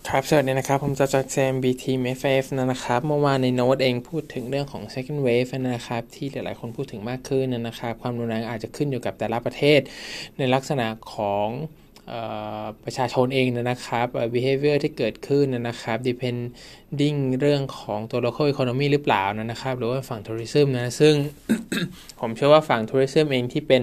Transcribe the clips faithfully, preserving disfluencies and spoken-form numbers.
ครับสวัสดีนะครับผมจะจาก ซี เอ็ม บี Team เอฟ เอฟ นะครับเมื่อวานในโน้ตเองพูดถึงเรื่องของ second wave นะครับที่หลายๆคนพูดถึงมากขึ้นนะครับความรุนแรงอาจจะขึ้นอยู่กับแต่ละประเทศในลักษณะของประชาชนเองนะครับ behavior ที่เกิดขึ้นนะครับ depending เรื่องของตัว local economy หรือเปล่านะครับหรือว่าฝั่ง tourism นะซึ่ง ผมเชื่อว่าฝั่ง tourism เองที่เป็น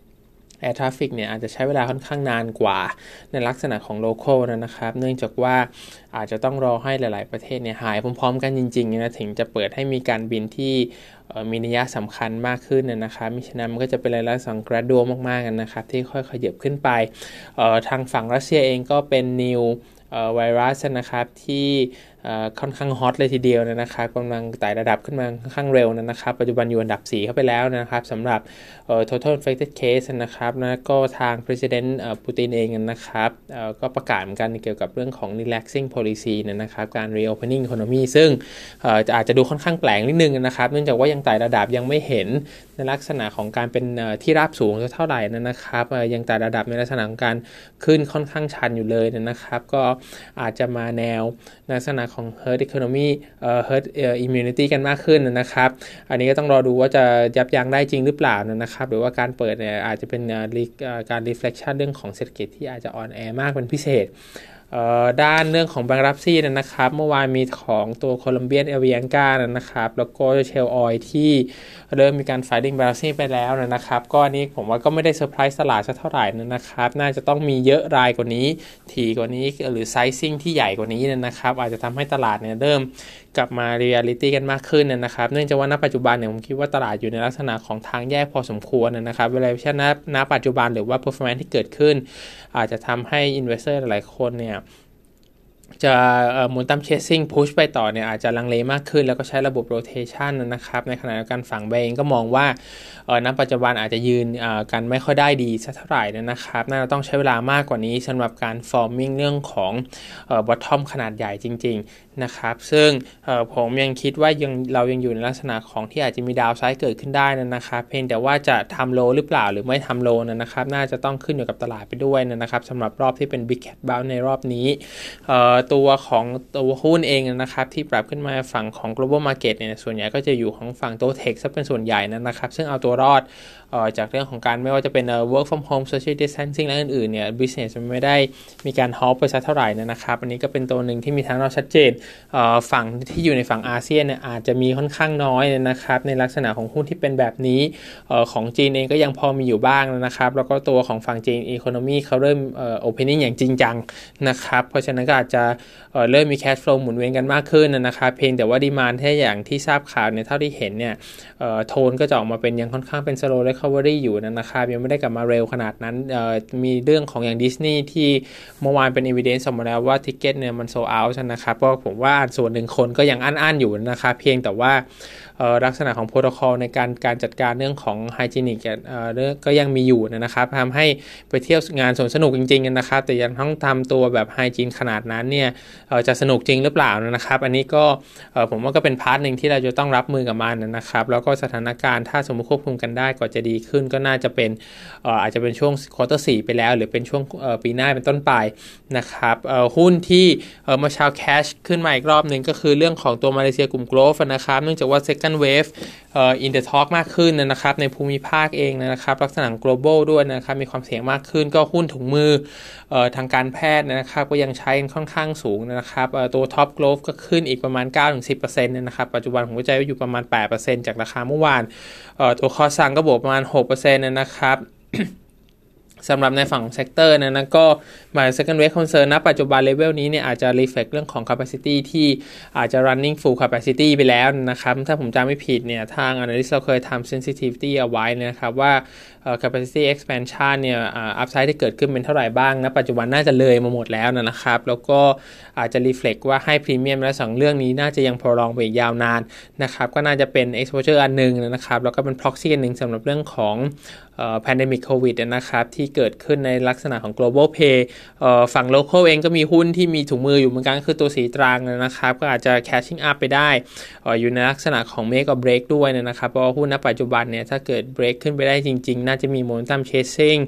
Air Traffic เนี่ยอาจจะใช้เวลาค่อนข้างนานกว่าในลักษณะของ local นะครับเนื่องจากว่าอาจจะต้องรอให้หลายๆประเทศเนี่ยหายพร้อมๆกันจริงๆนะถึงจะเปิดให้มีการบินที่มีนัยสำคัญมากขึ้นนะครับมิฉะนั้นมันก็จะเป็นรายละสัง gradual มากๆกันนะครับที่ค่อยๆขยับขึ้นไปทางฝั่งรัสเซียเองก็เป็น new ไวรัสนะครับที่ค่อนข้างฮอตเลยทีเดียวนะครับกำลังไต่ระดับขึ้นมาค่อนข้างเร็วนะครับปัจจุบันอยู่อันดับสี่เข้าไปแล้วนะครับสำหรับ total infected case นะครับนะก็ทาง president ปูตินเองนะครับก็ประกาศเหมือนกันเกี่ยวกับเรื่องของ relaxing policy นะครับการ reopening economy ซึ่งอาจจะดูค่อนข้างแปลกนิดนึงนะครับเนื่องจากว่ายังไต่ระดับยังไม่เห็นในลักษณะของการเป็นที่ราบสูงเท่าไหร่นะครับยังไต่ระดับในลักษณะของการขึ้นค่อนข้างชันอยู่เลยนะครับก็อาจจะมาแนวลักษณะของ herd economy เอ่อ herd immunity กันมากขึ้นนะครับอันนี้ก็ต้องรอดูว่าจะยับยั้งได้จริงหรือเปล่านะครับหรือว่าการเปิดเนี่ยอาจจะเป็นการ reflection เรื่องของเศรษฐกิจที่อาจจะอ่อนแอมากเป็นพิเศษด้านเรื่องของ bankruptcy นะครับเมื่อวานมีของตัว Colombian Avianca นะครับแล้วก็ Shell Oil ที่เริ่มมีการ filing bankruptcy ไปแล้วนะครับก็อันนี้ผมว่าก็ไม่ได้เซอร์ไพรส์ตลาดสักเท่าไหร่นะครับน่าจะต้องมีเยอะรายกว่านี้ถี่กว่านี้หรือ sizing ที่ใหญ่กว่านี้นะครับอาจจะทำให้ตลาดเนี่ยเริ่มกลับมา reality กันมากขึ้นนะครับเนื่องจากว่าณปัจจุบันเนี่ยผมคิดว่าตลาดอยู่ในลักษณะของทางแยกพอสมควรนะครับ valuation ณณปัจจุบันหรือว่า performance ที่เกิดขึ้นอาจจะทำให้ investor หลายคนเนี่ยจะมูลตัมเชสซิ่งพุชไปต่อเนี่ยอาจจะลังเลมากขึ้นแล้วก็ใช้ระบบโรเทชันนะครับในขณะเดียวกันฝั่งเบงก็มองว่าณปัจจุบันอาจจะยืนกันไม่ค่อยได้ดีสักเท่าไหร่นะครับน่าจะต้องใช้เวลามากกว่านี้สำหรับการ forming เรื่องของ bottom ขนาดใหญ่จริงๆนะครับซึ่งผมยังคิดว่ายังเรายังอยู่ในลักษณะของที่อาจจะมีดาวไซด์เกิดขึ้นได้นะครับเพียงแต่ว่าจะทำโลหรือเปล่าหรือไม่ทำโลนะครับน่าจะต้องขึ้นอยู่กับตลาดไปด้วยนะครับสำหรับรอบที่เป็น big cat bounce ในรอบนี้ตัวของตัวหุ้นเองนะครับที่ปรับขึ้นมาฝั่งของ global market เนี่ยส่วนใหญ่ก็จะอยู่ของฝั่งตัว tech ซะเป็นส่วนใหญ่นะครับซึ่งเอาตัวรอดจากเรื่องของการไม่ว่าจะเป็น work from home social distancing และอื่นๆเนี่ย business มันไม่ได้มีการ halt ไปสักเท่าไหร่นะครับอันนี้ก็เป็นตัวหนึ่งที่มีทางรอดชัดเจนฝั่งที่อยู่ในฝั่งอาเซียนเนี่ยอาจจะมีค่อนข้างน้อยนะครับในลักษณะของหุ้นที่เป็นแบบนี้ของจีนเองก็ยังพอมีอยู่บ้างนะครับแล้วก็ตัวของฝั่งจีน economy เขาเริ่ม opening อย่างจริงจังนะครับเพราะฉะนั้นก็อาจจะเ, เริ่มมี cash flow หมุนเวียนกันมากขึ้นนะครับเพียงแต่ว่า demand แค่อย่างที่ทราบข่าวเนี่ยเท่าที่เห็นเนี่ยโทนก็จะออกมาเป็นยังค่อนข้างเป็น slow recovery อยู่นะครับยังไม่ได้กลับมาเร็วขนาดนั้นมีเรื่องของอย่างดิสนีย์ที่เมื่อวานเป็น evidence ออกมาแล้วว่า ticket เนี่ยมัน sold out นะครับเพราะผมว่าส่วนหนึ่งคนก็ยังอั้นๆอยู่นะครับเพียงแต่ว่าลักษณะของโปรโตคอลในการการจัดการเรื่องของไฮจีนิกก็ยังมีอยู่นะครับทำให้ไปเที่ยวงานสวนสนุกจริงๆนะครับแต่ยังต้องทำตัวแบบไฮจีนขนาดนั้นเนี่ยจะสนุกจริงหรือเปล่านะครับอันนี้ก็ผมว่าก็เป็นพาร์ทนึงที่เราจะต้องรับมือกับมันนะครับแล้วก็สถานการณ์ถ้าสมมติควบคุมกันได้ก็จะดีขึ้นก็น่าจะเป็นอาจจะเป็นช่วงควอเตอร์สี่ไปแล้วหรือเป็นช่วงปีหน้าเป็นต้นไปนะครับหุ้นที่มาเช้าแคชขึ้นมาอีกรอบนึงก็คือเรื่องของตัวมาเลเซียกลุ่ม growth นะครับเนื่องจากว่า second wave เอ่อ in the talk มากขึ้นนะครับในภูมิภาคเองนะครับลักษณะ global ด้วยนะครับมีความเสี่ยงมากขึ้นก็หุ้นถุงมือเอ่อทางการแพทย์นะครับก็ยังใช้ค่อนข้างสูงนะครับเอ่อตัว top growth ก็ขึ้นอีกประมาณ เก้าถึงสิบเปอร์เซ็นต์ นะครับปัจจุบันผมก็ใจว่าอยู่ประมาณ แปดเปอร์เซ็นต์ จากราคาเมื่อวานเอ่อตัวคอซังก็บวกประมาณ หกเปอร์เซ็นต์ นะครับ สำหรับในฝั่งเซกเตอร์นะนะก็มา second wave concern นะปัจจุบันเลเวลนี้เนี่ยอาจจะ reflect เรื่องของ capacity ที่อาจจะ running full capacity ไปแล้วนะครับถ้าผมจำไม่ผิดเนี่ยทาง analyst เราเคยทำ sensitivity เอาไว้นะครับว่า capacity expansion เนี่ย upside ที่เกิดขึ้นเป็นเท่าไหร่บ้างนะปัจจุบันน่าจะเลยมาหมดแล้วนะครับแล้วก็อาจจะ reflect ว่าให้ premium และสองเรื่องนี้น่าจะยัง prolong ไปอีกยาวนานนะครับก็น่าจะเป็น exposure อันนึงนะครับแล้วก็เป็น proxy อันนึงสำหรับเรื่องของเอ่อ pandemic covid นะครับที่เกิดขึ้นในลักษณะของ global pay เอ่อฝั่ง local เองก็มีหุ้นที่มีถุงมืออยู่เหมือนกันคือตัวสีตรังนะครับก็อาจจะ catching up ไปได้เอ่ออยู่ในลักษณะของ make or break ด้วยนะครับเพราะว่าหุ้นณปัจจุบันเนี่ยถ้าเกิด break ขึ้นไปได้จริงๆน่าจะมี momentum chasing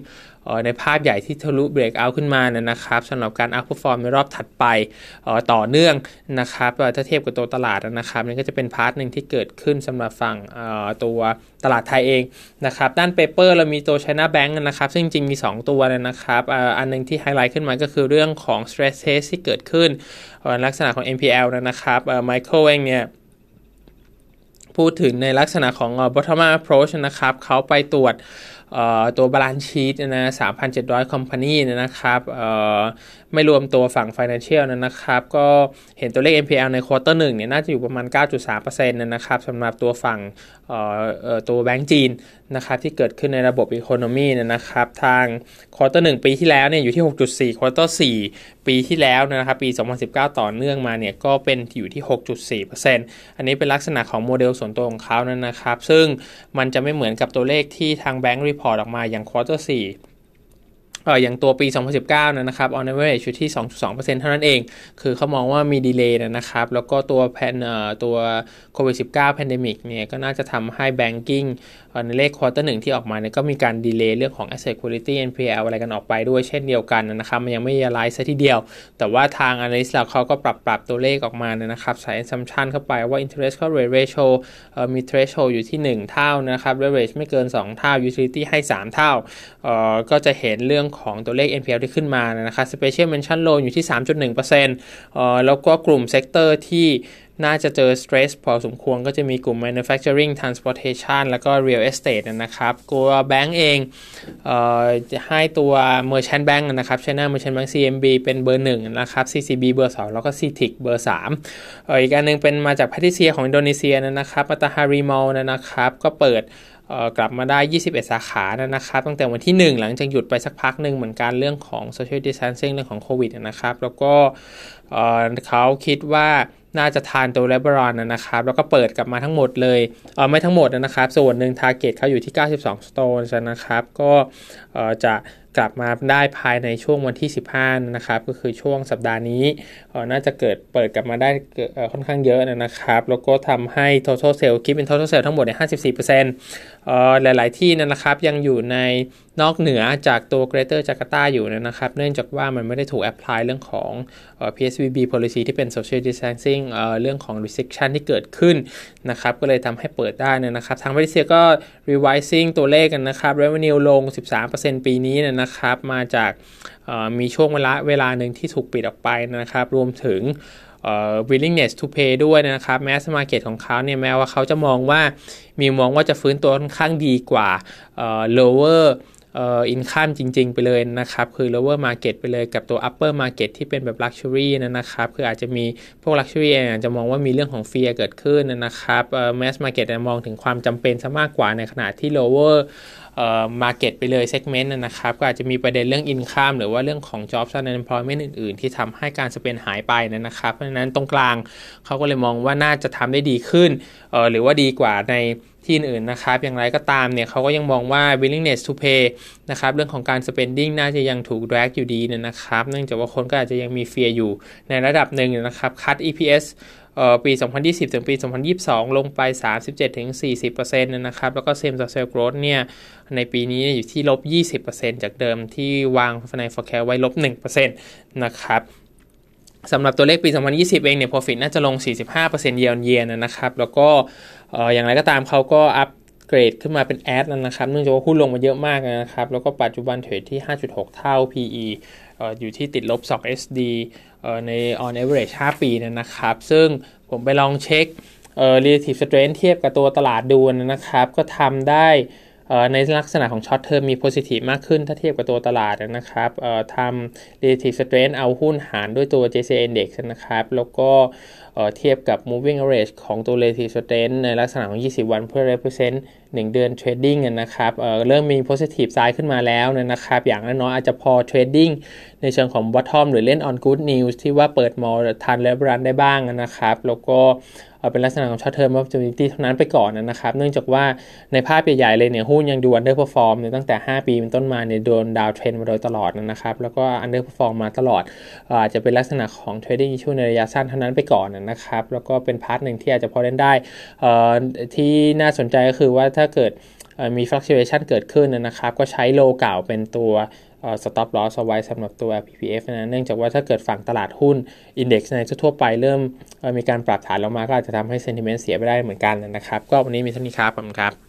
ในภาพใหญ่ที่ทะลุเบรกเอาท์ขึ้นมานะครับสำหรับการ outperform ในรอบถัดไปต่อเนื่องนะครับถ้าเทียบกับตัวตลาดนะครับนี่ก็จะเป็นพาร์ทนึงที่เกิดขึ้นสำหรับฝั่งตัวตลาดไทยเองนะครับด้านเปเปอร์เรามีตัว China Bank นะครับซึ่งจริงมีสองตัวนะครับอันนึงที่ไฮไลท์ขึ้นมาก็คือเรื่องของ stress test ที่เกิดขึ้นลักษณะของ เอ็น พี แอล นะครับไมเคิลเองเนี่ยพูดถึงในลักษณะของ bottom up approach นะครับเขาไปตรวจตัว balance sheet นะ สามพันเจ็ดร้อย company นะครับไม่รวมตัวฝั่ง financial นะครับก็เห็นตัวเลข เอ็น พี แอล ใน quarter หนึ่งเนี่ยน่าจะอยู่ประมาณ เก้าจุดสามเปอร์เซ็นต์ นะครับสำหรับตัวฝั่งตัวแบงก์จีนนะครับที่เกิดขึ้นในระบบ economy นะครับทาง quarter หนึ่งปีที่แล้วเนี่ยอยู่ที่ หกจุดสี่ quarter สี่ปีที่แล้วนะครับปีสองพันสิบเก้าต่อเนื่องมาเนี่ยก็เป็นอยู่ที่ หกจุดสี่เปอร์เซ็นต์ อันนี้เป็นลักษณะของโมเดลส่วนตัวของเขานะครับซึ่งมันจะไม่เหมือนกับตัวเลขที่ทางแบงก์รีพอร์ตออกมาอย่าง quarter สี่เอ่ออย่างตัวปีสองพันสิบเก้านะครับ on average อยู่ที่ สองจุดสองเปอร์เซ็นต์ เท่านั้นเองคือเขามองว่ามีดีเลย์นะครับแล้วก็ตัวแพนเอ่อตัวโควิด สิบเก้า pandemic เนี่ยก็น่าจะทำให้ banking ในเลข quarter หนึ่งที่ออกมาเนี่ยก็มีการดีเลย์เรื่องของ asset quality เอ็น พี แอล อะไรกันออกไปด้วยเช่นเดียวกันนะครับมันยังไม่ realize ซะทีเดียวแต่ว่าทาง analyst เราเขาก็ปรับปรับตัวเลขออกมานะครับใส่ assumption เข้าไปว่า interest coverage ratio เอ่อมี threshold อยู่ที่หนึ่งเท่านะครับ leverage ไม่เกินสองเท่า utility ให้สามเท่าเอ่อก็จะเห็นเรื่องของตัวเลข เอ็น พี แอล ที่ขึ้นมานะครับ special mention loan อยู่ที่ สามจุดหนึ่งเปอร์เซ็นต์ เอ่อแล้วก็กลุ่ม sector ที่น่าจะเจอ stress พอสมควรก็จะมีกลุ่ม manufacturing transportation แล้วก็ real estate นะครับตัวแบงก์เองเอ่อจะให้ตัว merchant bank นะครับ China merchant bank ซี เอ็ม บี เป็นเบอร์หนึ่งนะครับ ซี ซี บี เบอร์สองแล้วก็ ซี ที ไอ ซี เบอร์สามเอ่ออีกอันนึงเป็นมาจาก Pattaya ของอินโดนีเซียนะครับ Matahari Mall นะครับก็เปิดเอ่อกลับมาได้ยี่สิบเอ็ดสาขานะครับตั้งแต่วันที่หนึ่งหลังจากหยุดไปสักพักนึงเหมือนกันเรื่องของ social distancing เรื่องของโควิดนะครับแล้วก็เอ่อเขาคิดว่าน่าจะทานตัวเลเบรอนนะครับแล้วก็เปิดกลับมาทั้งหมดเลยเออไม่ทั้งหมดนะครับส่วนหนึ่ง target เขาอยู่ที่เก้าสิบสอง stores นะครับก็เอ่อจะกลับมาได้ภายในช่วงวันที่สิบห้านะครับก็คือช่วงสัปดาห์นี้เอ่อน่าจะเกิดเปิดกลับมาได้เอ่อค่อนข้างเยอะนะครับแล้วก็ทำให้ total sale คิดเป็น total sale ทั้งหมดเนี่ย ห้าสิบสี่เปอร์เซ็นต์ เอ่อหลายๆที่นะครับยังอยู่ในนอกเหนือจากตัว Greater Jakarta อยู่นะครับเนื่องจากว่ามันไม่ได้ถูก apply เรื่องของเอ่อ พี เอส วี บี policy ที่เป็น social distancing เอ่อเรื่องของ restriction ที่เกิดขึ้นนะครับก็เลยทำให้เปิดได้นะครับทางมาเลเซียก็ revising ตัวเลขกันนะครับ revenue ลง สิบสามเปอร์เซ็นต์ ปีนี้นะครับมาจากมีช่วงเวลาเวลาหนึ่งที่ถูกปิดออกไปนะครับรวมถึงUh, willingness to pay ด้วยนะครับ mass market ของเขาเนี่ยแม้ว่าเขาจะมองว่ามีมองว่าจะฟื้นตัวค่อนข้างดีกว่า uh, lower uh, income จริงๆไปเลยนะครับคือ lower market ไปเลยกับตัว upper market ที่เป็นแบบ luxury นะครับคืออาจจะมีพวก luxury เองอาจจะมองว่ามีเรื่องของ fear เกิดขึ้นนะครับ uh, mass market มองถึงความจำเป็นซะมากกว่าในขณะที่ lowerเอ่อ market ไปเลย segment นะครับก็อาจจะมีประเด็นเรื่อง income หรือว่าเรื่องของ jobs and employment อื่นๆที่ทำให้การสเปนหายไปนะครับเพราะฉะนั้นตรงกลางเขาก็เลยมองว่าน่าจะทำได้ดีขึ้นเอ่อหรือว่าดีกว่าในที่อื่นนะครับอย่างไรก็ตามเนี่ยเขาก็ยังมองว่า willingness to pay นะครับเรื่องของการ spending น่าจะยังถูก drag อยู่ดีนะครับเนื่องจากว่าคนก็อาจจะยังมี fear อยู่ในระดับหนึ่งนะครับ cut อี พี เอสเอ่อปีสองพันยี่สิบถึงปีสองพันยี่สิบสองลงไป สามสิบเจ็ดถึงสี่สิบเปอร์เซ็นต์ นะครับแล้วก็ same store sales growth เนี่ยในปีนี้อยู่ที่ ลบยี่สิบเปอร์เซ็นต์ จากเดิมที่วางใน forecast ไว้ ลบหนึ่งเปอร์เซ็นต์ นะครับสำหรับตัวเลขปีสองพันยี่สิบเองเนี่ย profit น่าจะลง สี่สิบห้าเปอร์เซ็นต์ year on year นะครับแล้วก็เอ่ออย่างไรก็ตามเขาก็อัพเกรดขึ้นมาเป็นแอดนะครับเนื่องจากว่าหุ้นลงมาเยอะมากนะครับแล้วก็ปัจจุบันเทรดที่ ห้าจุดหก เท่า พี อี เอ่ออยู่ที่ติดลบ สอง เอส ดี เอ่อใน on average ห้าปีนะครับซึ่งผมไปลองเช็คเอ่อ relative strength เทียบกับตัวตลาดดูนะครับก็ทำได้เอ่อในลักษณะของ short term มี positive มากขึ้นถ้าเทียบกับตัวตลาดนะครับเอ่อทำ relative strength เอาหุ้นหารด้วยตัว เจ ซี ไอ Index นะครับแล้วก็เอ่อเทียบกับ moving average ของตัว relative strength ในลักษณะของยี่สิบวันเพื่อ represent หนึ่งเดือน trading นะครับเอ่อเริ่มมี positive side ขึ้นมาแล้วนะครับอย่างน้อยๆอาจจะพอ trading ในเชิงของ bottom หรือเล่น on good news ที่ว่าเปิดมอลทันและรันได้บ้างนะครับแล้วก็เป็นลักษณะของ short term opportunity เท่านั้นไปก่อนนะครับเนื่องจากว่าในภาพใหญ่ๆเลยเนี่ยหุ้นยังดู underperform เนี่ยตั้งแต่ห้าปีเป็นต้นมาเนี่ยโดนดาวเทรนมาโดยตลอดนะครับแล้วก็ underperform มาตลอดอาจจะเป็นลักษณะของ trading issue ในระยะสั้นเท่านั้นไปก่อนนะครับแล้วก็เป็นพาร์ทหนึ่งที่อาจจะพอเล่นได้ที่น่าสนใจก็คือว่าถ้าเกิดมี fluctuation เกิดขึ้นนะครับก็ใช้โลเก่าเป็นตัวstop loss เอาไว้สำหรับตัว พี พี เอฟ นะเนื่องจากว่าถ้าเกิดฝั่งตลาดหุ้น index ในทั่วไปเริ่มมีการปรับฐานลงมาก็อาจจะทำให้ sentiment เสียไปได้เหมือนกันนะครับก็วันนี้มีเท่านี้ครับขอบคุณครับ